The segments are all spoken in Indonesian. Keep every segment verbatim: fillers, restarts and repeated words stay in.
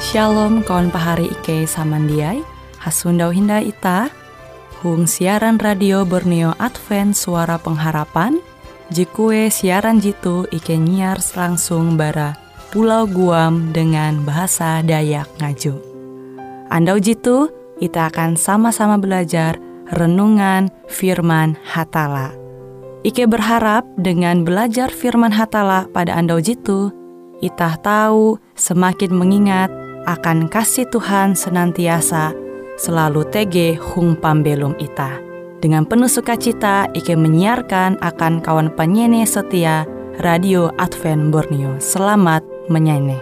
Shalom kawan pahari Ike samandiai, hasundau hinda ita, hung siaran radio Borneo Advent Suara Pengharapan, jikue siaran jitu Ike nyiar langsung bara Pulau Guam dengan bahasa Dayak Ngaju. Andau jitu, kita akan sama-sama belajar renungan firman Hatala. Ike berharap dengan belajar firman Hatala pada andau jitu, kita tahu semakin mengingat akan kasih Tuhan senantiasa selalu tege hung pambelum ita. Dengan penuh sukacita, Ike menyiarkan akan kawan penyanyi setia Radio Advent Borneo. Selamat menyanyi.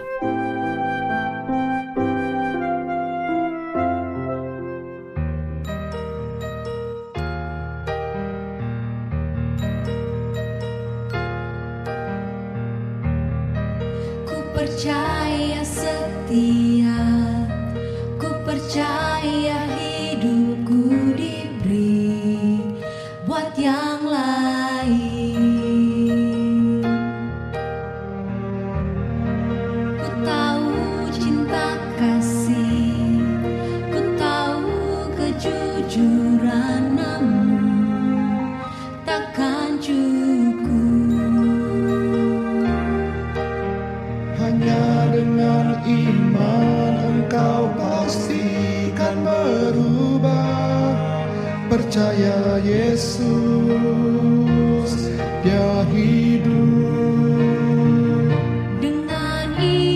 Percaya setia, ku percaya hidupku diberi buat yang lain. Ku tahu cinta kasih, ku tahu kejujuran, namun takkan cukup. Dengan iman engkau pastikan berubah. Percaya Yesus, Dia hidup. Dengan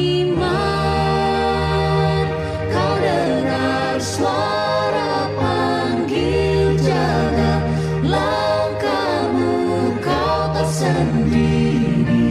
iman kau dengar suara panggil, jaga langkahmu, kau tak sendiri.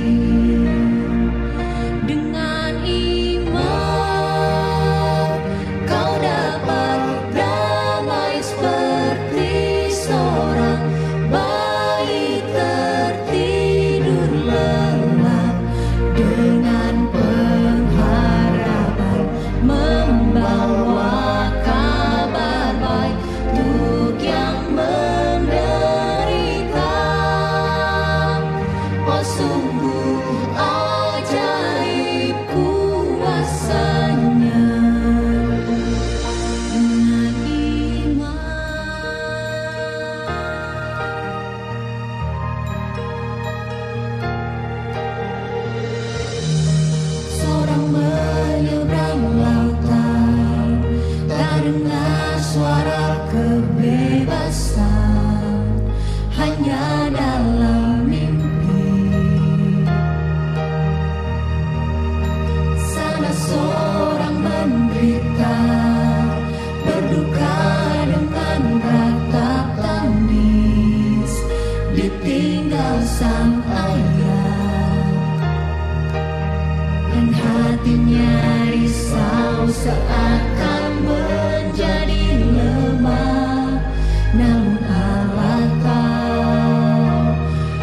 Seakan menjadi lemah, namun Allah tahu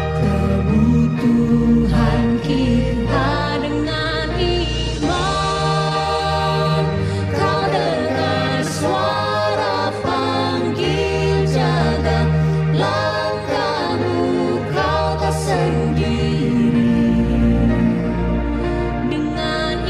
kebutuhan kita. Dengan iman kau dengar suara panggil, jaga langkahmu, kau tak sendiri. Dengan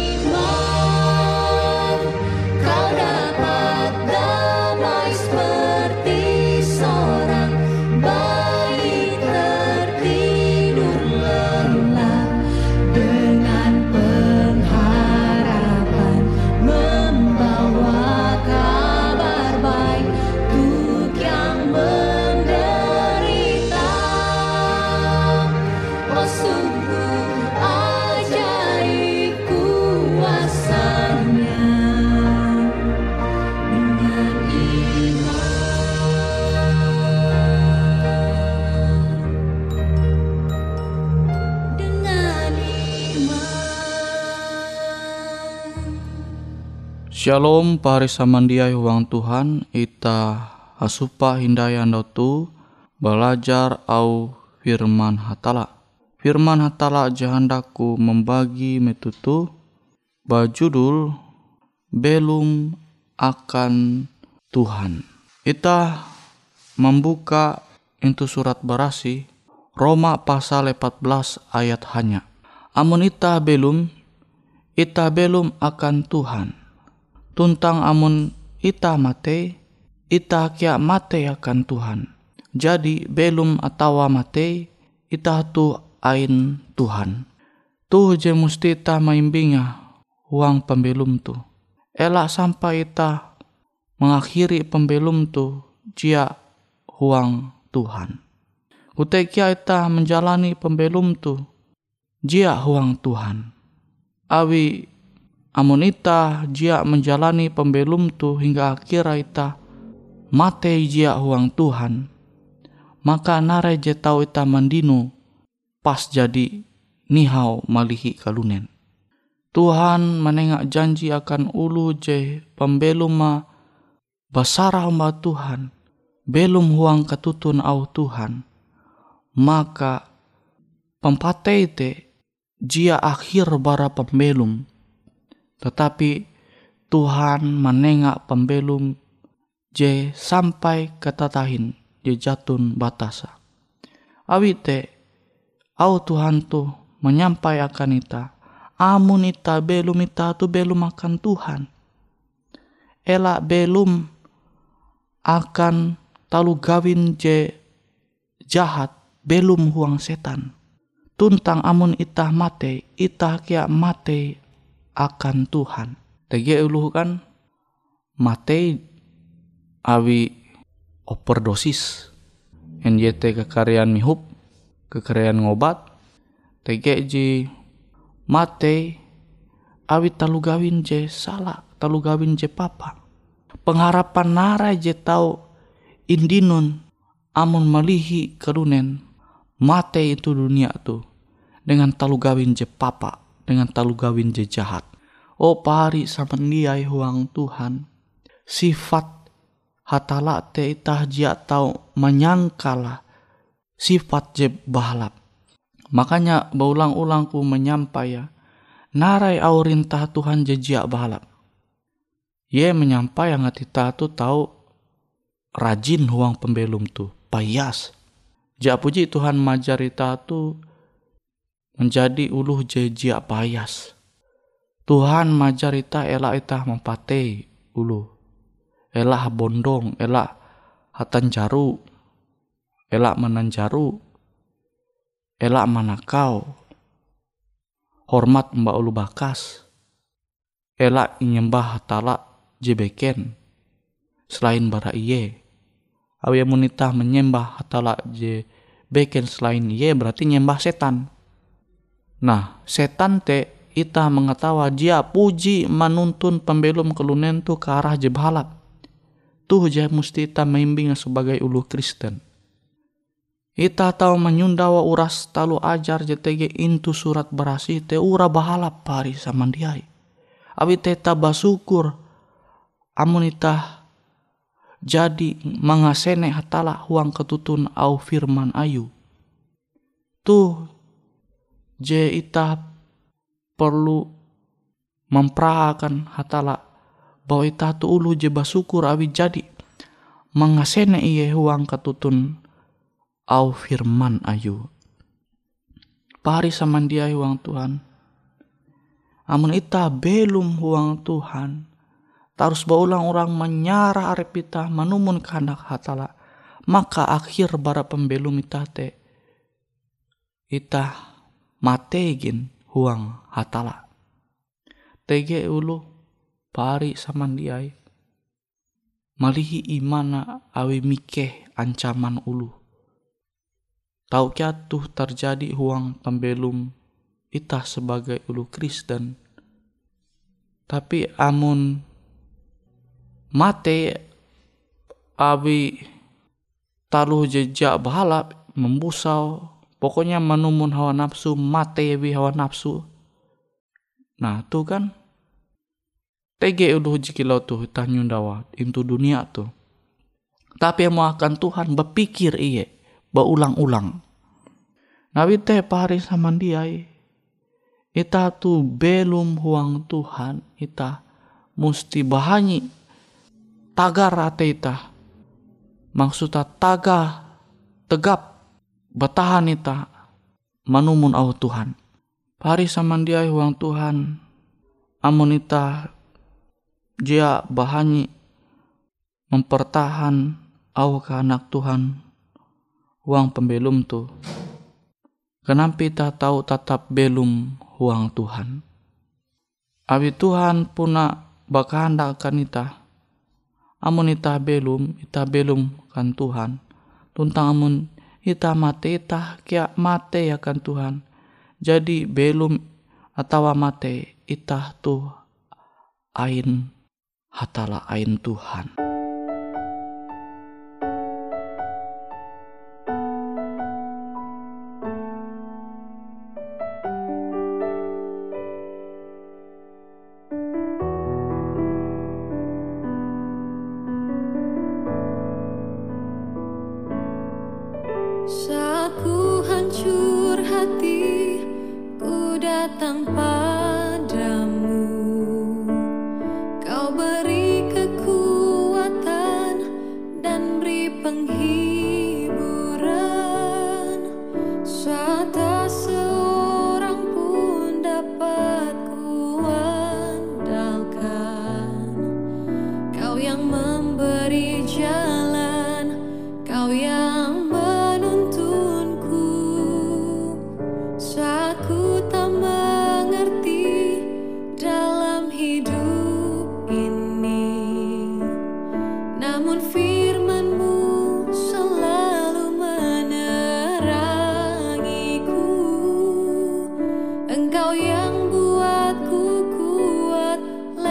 iman kau dapat damai seperti seorang bayi tertidur lelap. Dengan pengharapan membawa kabar baik untuk yang menderita. Oh, sungguh ajaib kuasanya. Dengan iman, dengan iman. Shalom pari samandiai huang Tuhan, ita asupa hindai andau tu belajar au firman Hatala. Firman Hatala jahandaku membagi metutu bajudul belum akan Tuhan. Ita membuka itu surat Barasi Roma pasal empat belas ayat hanya. Amun ita belum ita belum akan Tuhan. Tuntang amun ita mate, ita kia mate akan Tuhan. Jadi belum atawa mate, ita tu ain Tuhan. Tu je musti ita maimbinga huang pembelum tu. Elak sampai ita mengakhiri pembelum tu jia huang Tuhan. Kutekia ita menjalani pembelum tu jia huang Tuhan. Awi amun ita jia menjalani pembelum tu hingga akhir ita mate jia huang Tuhan, maka narai je tau ita mandino pas jadi nihau malihi kalunen. Tuhan menengak janji akan ulu je pembelum ma basarah ma Tuhan, belum huang ketutun au Tuhan, maka pempatei te jia akhir bara pembelum. Tetapi Tuhan menengak pembelum je sampai ketatahin je jatun batasa. Awite au Tuhan tu menyampai akan ita, amun ita belum ita tu belum akan Tuhan. Elak belum akan talu gawin je jahat, belum huang setan. Tuntang amun ita mate, ita kia mate akan Tuhan. Tege uluh kan mate awi overdosis, N Y T kekarian mihup, kekarian ngobat. Tege ji mate awi talu gawin je salah, talu gawin je papa. Pengharapan narai je tau indinun amun malihi kerunen mate itu dunia tu dengan talu gawin je papa, dengan talu gawin je jahat. Oh pari samandiai huang Tuhan, sifat hatala te itah jia tau menyangkala sifat je bahalap. Makanya baulang-ulang ku menyampai ya, narai aurintah Tuhan je jia bahalap. Ye menyampai yang atita tu tahu rajin huang pembelum tu, payas. Ja puji Tuhan majarita tu menjadi uluh je jia payas. Tuhan majarita elak itah mempatei ulu. Elak bondong, elak hatan jaru, elak menanjaru, elak manakau, hormat mbak ulu bakas, elak nyembah hatala jebeken selain bara iye. Awi munitah menyembah hatala je beken selain iye berarti nyembah setan. Nah, setan te ita mengetawa dia puji manuntun pembelum kelunen tu ke arah je bahalap. Tuh je musti ita maimbing sebagai ulu Kristen. Ita tahu menyundawa uras talu ajar je tege intu surat berasi te ura bahalap pari samandiai. Awi teta basukur amun ita jadi mangasene hatala huang ketutun au firman ayu. Tuh je ita perlu memperahakan hatala bahwa ita tu ulu je basukur awi jadi mangasene iye huang ketutun au firman ayu. Pari samandiai huang Tuhan, amun ita belum huang Tuhan, tarus baulang orang menyarah arep ita manumun kehendak hatala, maka akhir bara pembelum ita te ita mategin huang hatala. Tege ulu pari samandiai malihi imana awi mikeh ancaman ulu. Tau kia tuh terjadi huang pembelum ita sebagai ulu Kristen. Tapi amun mate awi taluh jejak bahalap membusau, pokoknya menumun hawa nafsu, mate wi hawa nafsu. Nah tuh kan tege ulu jikilau tuh itah nyundawa intu dunia tuh. Tapi mau akan Tuhan berpikir iye baulang-ulang. Nawi teh pari samandiai ita tu belum huang Tuhan, ita musti bahanyi tagar ate ita. Maksudnya taga tegap bertahan ita manumun au Tuhan. Pari samandiai huang Tuhan amun ita jia bahanyi mempertahan au ke anak Tuhan huang pembelum tu, kenapa ita tahu tetap belum huang Tuhan. Abi Tuhan puna bakahandakan ita, amun ita belum, ita belum kan Tuhan. Tuntang amun ita mate, ita kia mate ya kan Tuhan. Jadi belum atau mate, ita tu ain hatala ain Tuhan. Saat ku hancur hati, ku datang padamu. Kau beri kekuatan dan beri penghiburan. Saat tak seorang pun dapat ku andalkan. Kau yang memberi jalan, Kau yang saat ku tak mengerti dalam hidup ini, namun firman-Mu selalu menerangiku. Engkau yang buatku kuat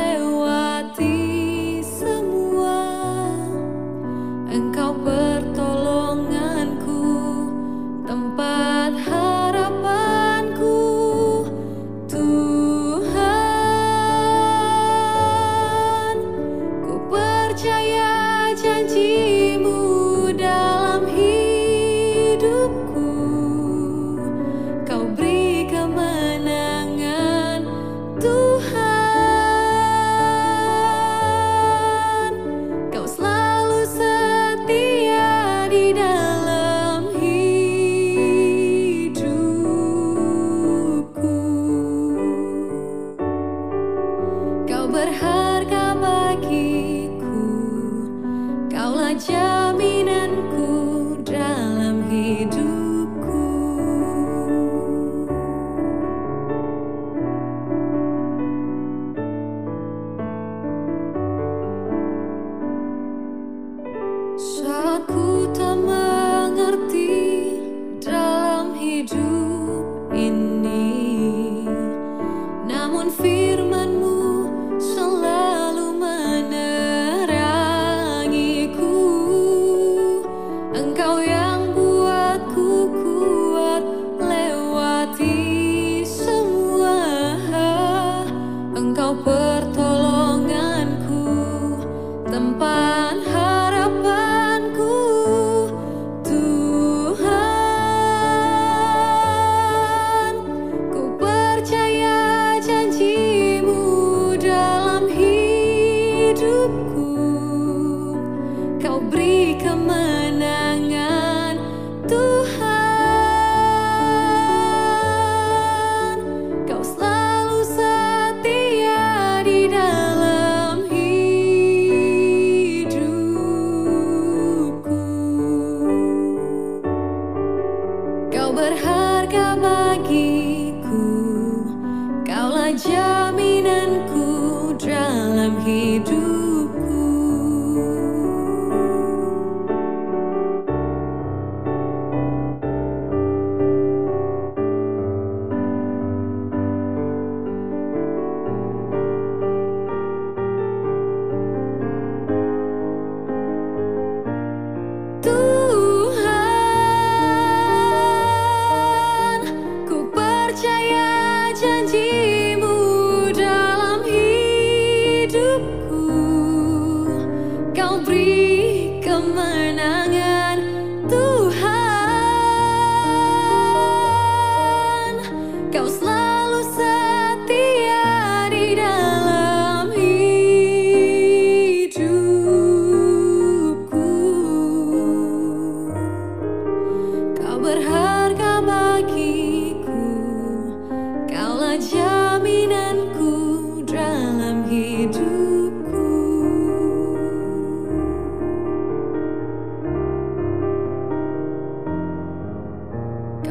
lewati semua. Engkau pertolonganku, tempat harapanku, Tuhan. Ku percaya janji-Mu dalam hidupku. Kau beri kemenangan, Tuhan. Kau selalu setia di dalam hidupku. Kau berharga bagiku, Kaulah jaminanku dalam hidupku. Saat ku tak mengerti dalam hidup ini, namun firman-Mu selalu menerangiku. Engkau yang buatku kuat lewati semua. Engkau pertolonganku, tempat harapanku, Tuhan. Ku percaya janji-Mu dalam hidupku. Kau beri kemenangan, Tuhan. Kau selalu setia di dalam hidupku. Kau berharga bagiku, Kaulah jaminanku dalam hidupku. Tuhan.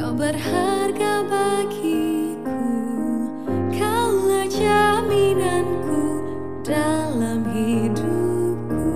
Kau berharga bagiku, Kaulah jaminanku dalam hidupku.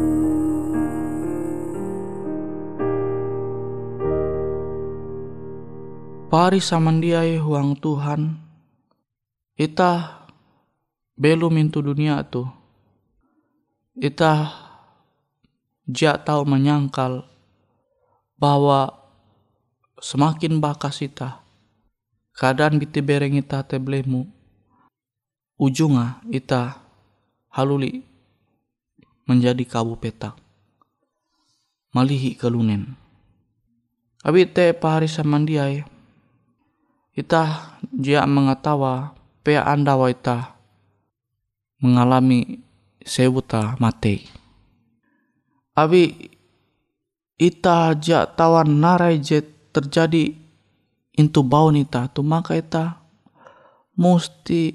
Pari samandiai huang Tuhan, ita belum intu dunia tu, ita jak tahu menyangkal bahwa semakin bakas ita, keadaan biti bereng ita teblemu, ujungnya ita haluli menjadi kabu petak, malihi kelunen. Abi te pahari samandiai, ita jia mengetawa pea anda wa ita mengalami sewuta mate. Abi ita jia tawan narai jet terjadi intu baun ita tu, maka ita musti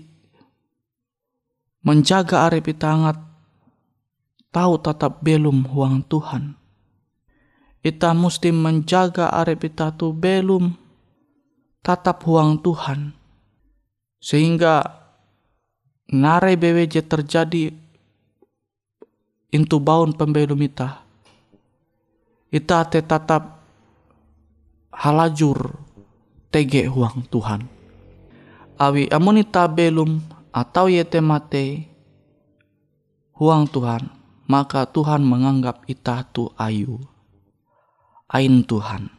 menjaga arep ita angat tahu tetap belum huang Tuhan. Ita musti menjaga arep ita tu belum tatap huang Tuhan, sehingga narai beweje terjadi intu baun pembelum ita, ita te tatap halajur tege huang Tuhan. Awi amun ita belum atau yete mate huang Tuhan, maka Tuhan menganggap ita tu ayu, ain Tuhan.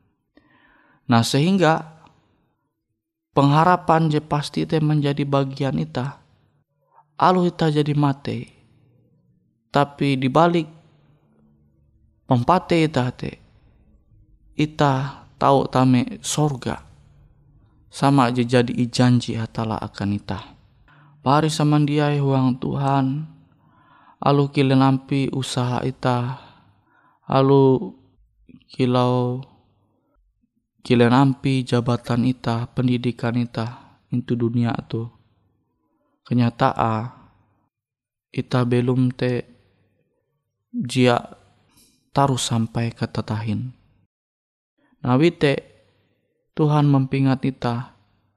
Nah sehingga pengharapan je pasti te menjadi bagian ita, alu ita jadi mate, tapi dibalik pempate ita te, ita tahu tame sorga, sama aja jadi ijanji hatala akan ita. Pari samandiai huang Tuhan, alu kile nampi usaha ita, alu kilau kile nampi jabatan ita, pendidikan ita into dunia tu, kenyataan ita belum te jia taruh sampai ke tatahin. Nah wite Tuhan mempingat ita,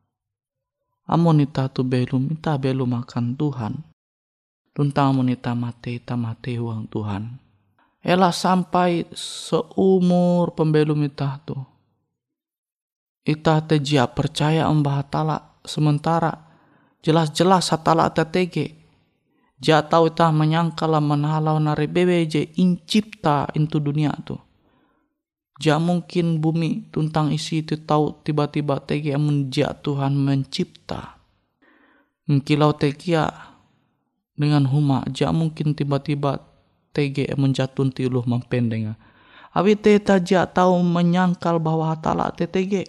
amun ita tu belum, ita belum akan Tuhan. Tuntang amun ita mate, ita mate huang Tuhan. Elah sampai seumur pembelum ita tu, ita te jia percaya embah hatala, sementara jelas-jelas hatala ita tege. Jia tahu ita menyangkala menhalau nare bewe je incipta into dunia tu. Jia mungkin bumi tuntang isi itu tahu tiba-tiba tege amun jia Tuhan mencipta. Mengkilau tegia dengan huma, jia mungkin tiba-tiba tege menjatun tiluh mempendenga. Abi teta jia tahu menyangkal bahwa hatala te tege.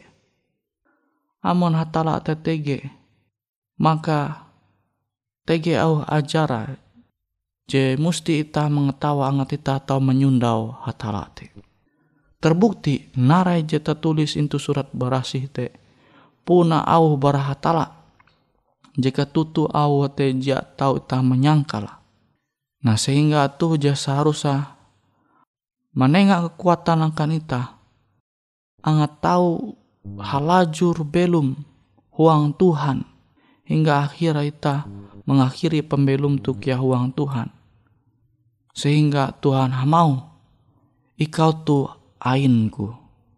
Amun hatala te tege, maka tege au ajara je musti ita mengetawa angat ita tahu menyundau hatala te. Terbukti narai je tertulis into surat barasih te, puna au barahatala, jika tutu au te jia tahu ita menyangkala. Nah sehingga tuh je seharusnya menengah kekuatan akan ita, angat tahu halajur belum huang Tuhan, hingga akhir ita mengakhiri pembelum tu kia huang Tuhan. Sehingga Tuhan mau ikau tu ainku,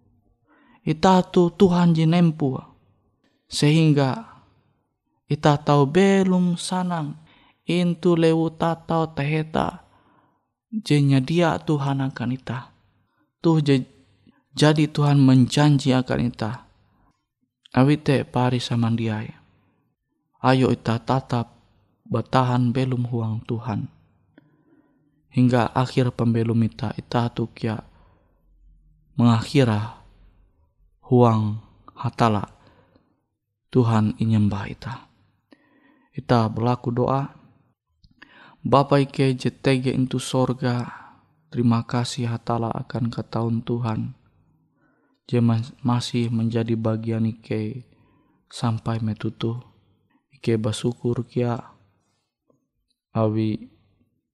ita tu Tuhan jinempu, sehingga ita tahu belum sanang intu lewu tatau teheta jenya dia Tuhan akan ita. Tuh je, jadi Tuhan menjanji akan ita. Awite pari samandiai, ayo ita tatap bertahan belum huang Tuhan, hingga akhir pembelum ita, ita tu kia mengakhira huang hatala Tuhan inyembah ita. Ita berlaku doa. Bapa ike jetege into sorga, terima kasih hatala akan ketahuan Tuhan, je masih menjadi bagian ike sampai metutu. Ike bersyukur kia awi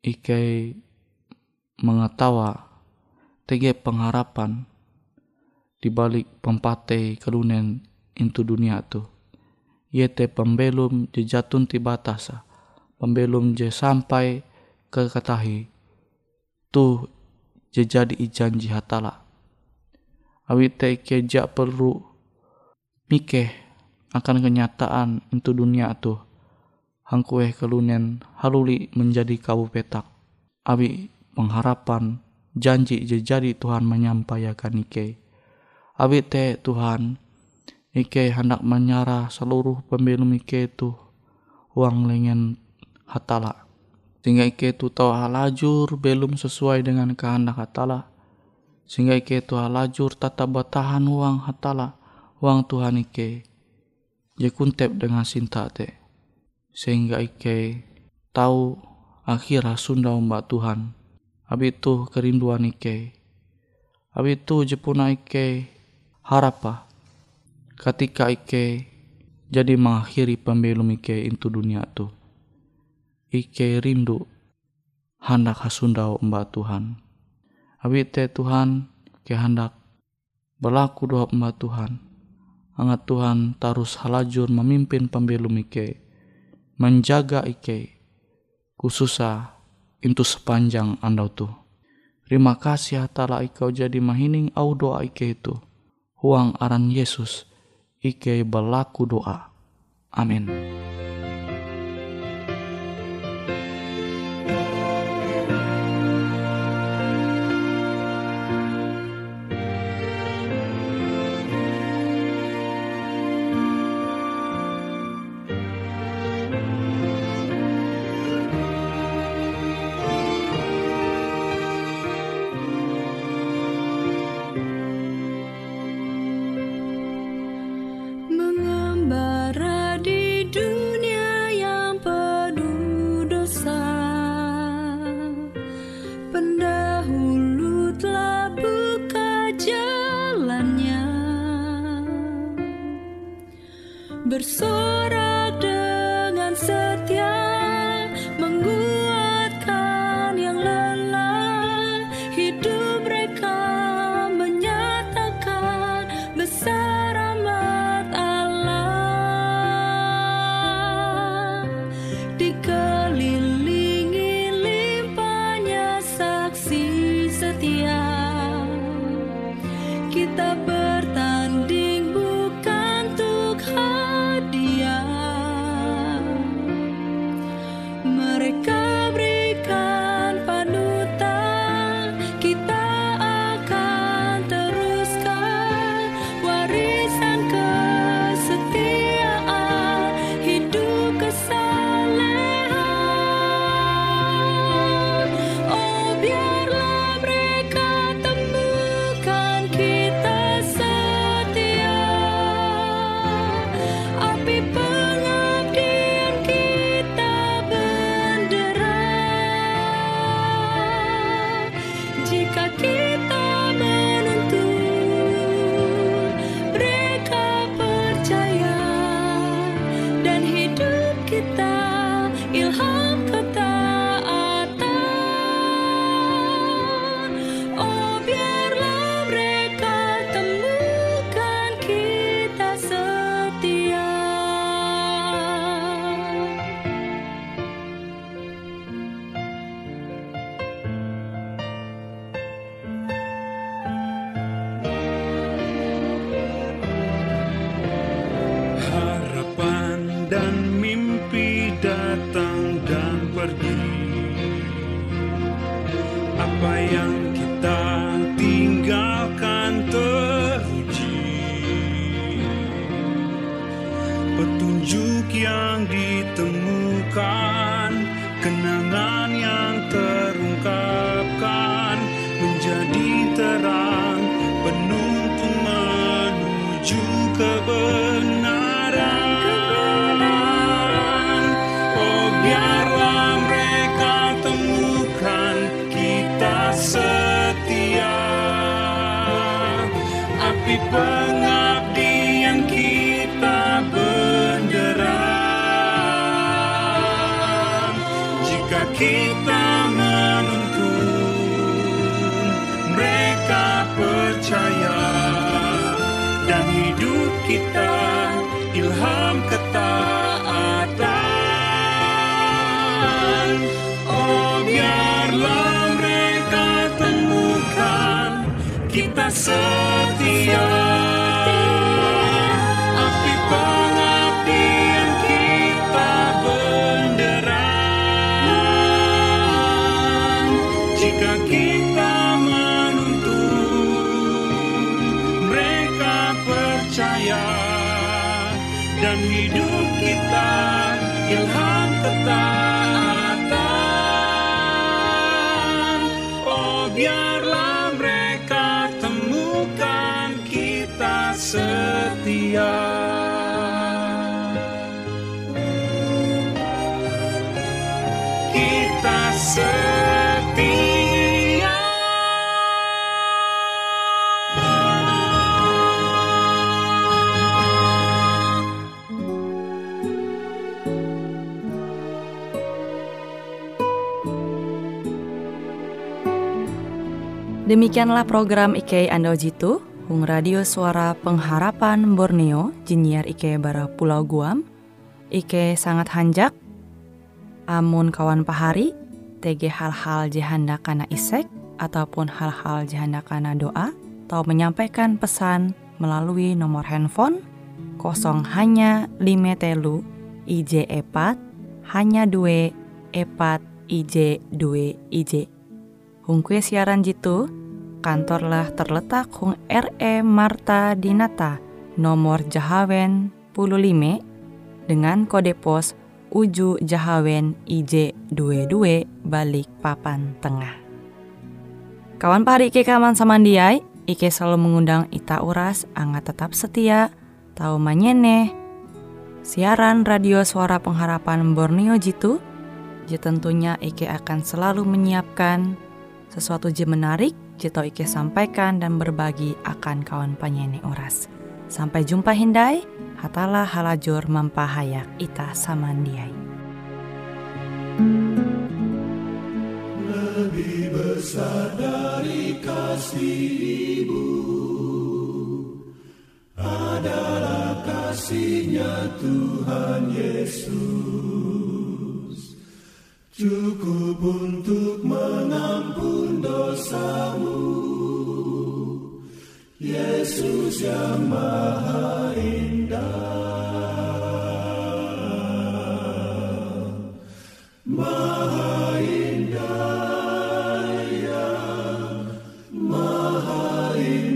ike mengetawa tege pengharapan di balik pempate kelunen intu dunia tu. Yete pembelum je jatun ti batasa, pembelum je sampai ke katahi, tu je jadi ijanji hatala. Awit te ike jak perlu mikeh akan kenyataan intu dunia tu. Hangkueh kelunen haluli menjadi kabu petak. Abi pengharapan janji je jadi Tuhan menyampaikan ike. Abi te Tuhan ike hendak menyarah seluruh pembelum ike tu uang lengan hatala. Sehingga ike tu tahu halajur belum sesuai dengan kehendak hatala. Sehingga ike tu halajur tata batahan uang hatala, uang Tuhan ike. Je kuntep dengan sinta te. Sehingga ike tahu akhirah sunda mbak Tuhan. Abi tu kerinduan ike. Abi tu jepuna ike harapa. Ketika ike jadi mengakhiri pembelum ike into dunia tu. Ike rindu hendak hasundau mbak Tuhan. Abi te Tuhan ke hendak berlaku doa mbak Tuhan. Angat Tuhan tarus halajur memimpin pembelum ike. Menjaga ike. Khususa into sepanjang andau tu. Terima kasih hatala ikau jadi mahining au doa ike itu. Huang aran Yesus ike berlaku doa. Amin. Bersorak dengan setia, menguatkan yang lelah. Hidup mereka menyatakan besar rahmat Allah. Dikelilingi limpahnya saksi setia, kita bertanding bukan untuk hadiah. Mereka berikan panutan, kita akan teruskan warisan kesetiaan, hidup kesalehan. Oh, biarlah mereka temukan kita setia, api pengabdian kita bendera. Jika kita menuntun, mereka percaya, dan hidup kita ilham ketaatan. Oh, biarlah mereka temukan kita setia. Harapan dan mimpi datang dan pergi. Apa yang kita tinggalkan teruji. Petunjuk yang ditemukan, kenangan yang terungkapkan, menjadi terang penuntun menuju kebenaran. Oh, biarlah mereka temukan kita setia, api pengabdian kita bendera. Jika kita menuntun, mereka percaya, kita ilham ketaatan. Oh, biarlah mereka temukan kita setia. Api pengabdian kita benderang. Jika kita menuntun, mereka percaya. Dan hidup kita ilham ketaatan. Oh, biarlah mereka temukan kita setia. Kita setia. Demikianlah program Ike Ando Jitu, Hung Radio Suara Pengharapan Borneo, Jinnyar Ike bara Pulau Guam. Ike sangat hanjak, amun kawan pahari, tege hal-hal jihanda kana isek, ataupun hal-hal jihanda kana doa, atau menyampaikan pesan melalui nomor handphone kosong hanya lima telu I J epat, hanya dua epat I J dua I J. Hung kue siaran jitu, kantorlah terletak Hung R E Marta Dinata, nomor Jahawen puluh lima, dengan kode pos Uju Jahawen I J dua dua balik papan tengah. Kawan pahari Ike kaman samandiai, Ike selalu mengundang ita uras, angga tetap setia, tau manyene, siaran radio Suara Pengharapan Borneo jitu, je tentunya Ike akan selalu menyiapkan sesuatu je menarik, jito Ike sampaikan dan berbagi akan kawan penyanyi oras. Sampai jumpa hindai, hatalah halajur mampahayak ita samandiai. Lebih besar dari kasih ibu adalah kasih-Nya Tuhan Yesus. Cukup untuk mengampun dosamu, Yesus yang maha indah, maha indah, ya, maha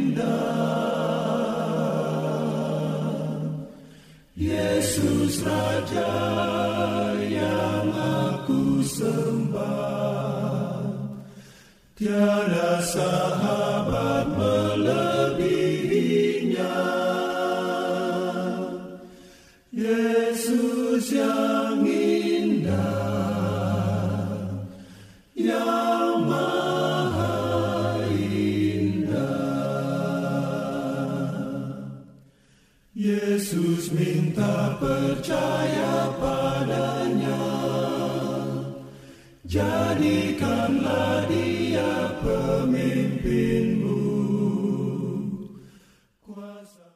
indah. Yesus Raja yang aku sembah, tiada sahabat melebihinya. Yesus yang indah, yang maha indah. Yesus minta percaya padanya, jadikanlah Dia pemimpin